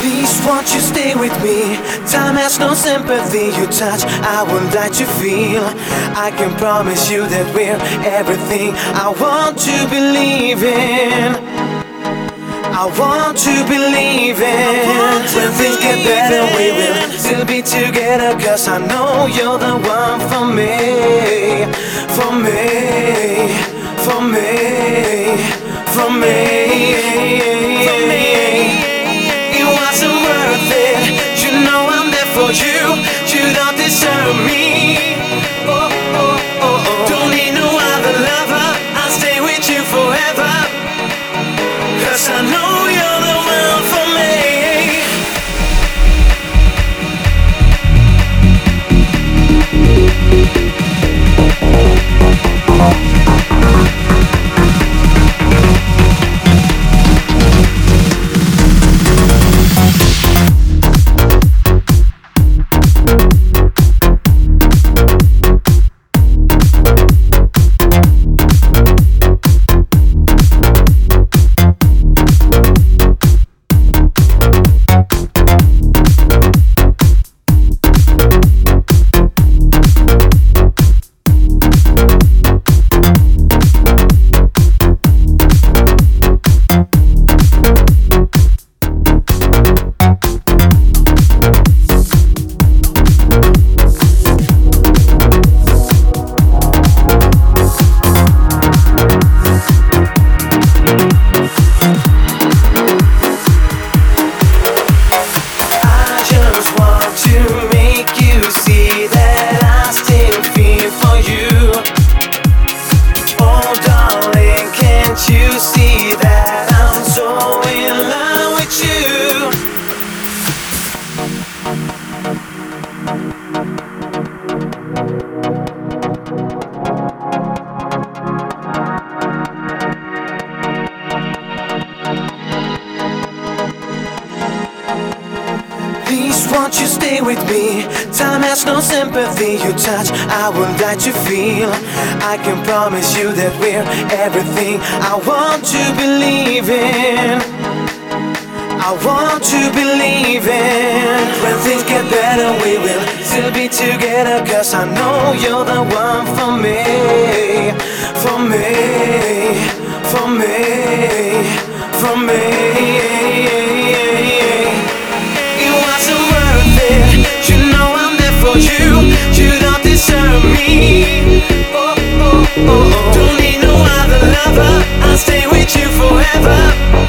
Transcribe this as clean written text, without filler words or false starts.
Please won't you stay with me? Time has no sympathy. Your touch I would like to feel. I can promise you that we're everything I want to believe in. I want to believe in. When things get better we will still be together, 'cause I know you're the one for me. For me, for me, for me. It wasn't worth it. You know I'm there for you. You don't deserve me. Oh, oh, oh, oh. Don't need no other lover. I'll stay with you forever, 'cause I know you're the one for me. Please won't you stay with me? Time has no sympathy. Your touch I would like to feel. I can promise you that we're everything I want to believe in. I want to believe in. When things get better we will still be together, 'cause I know you're the one for me. For me, for me, for me. It wasn't worth it. You know I'm there for you. You don't deserve me. Oh, oh, oh, oh. Don't need no other lover. I'll stay with you forever.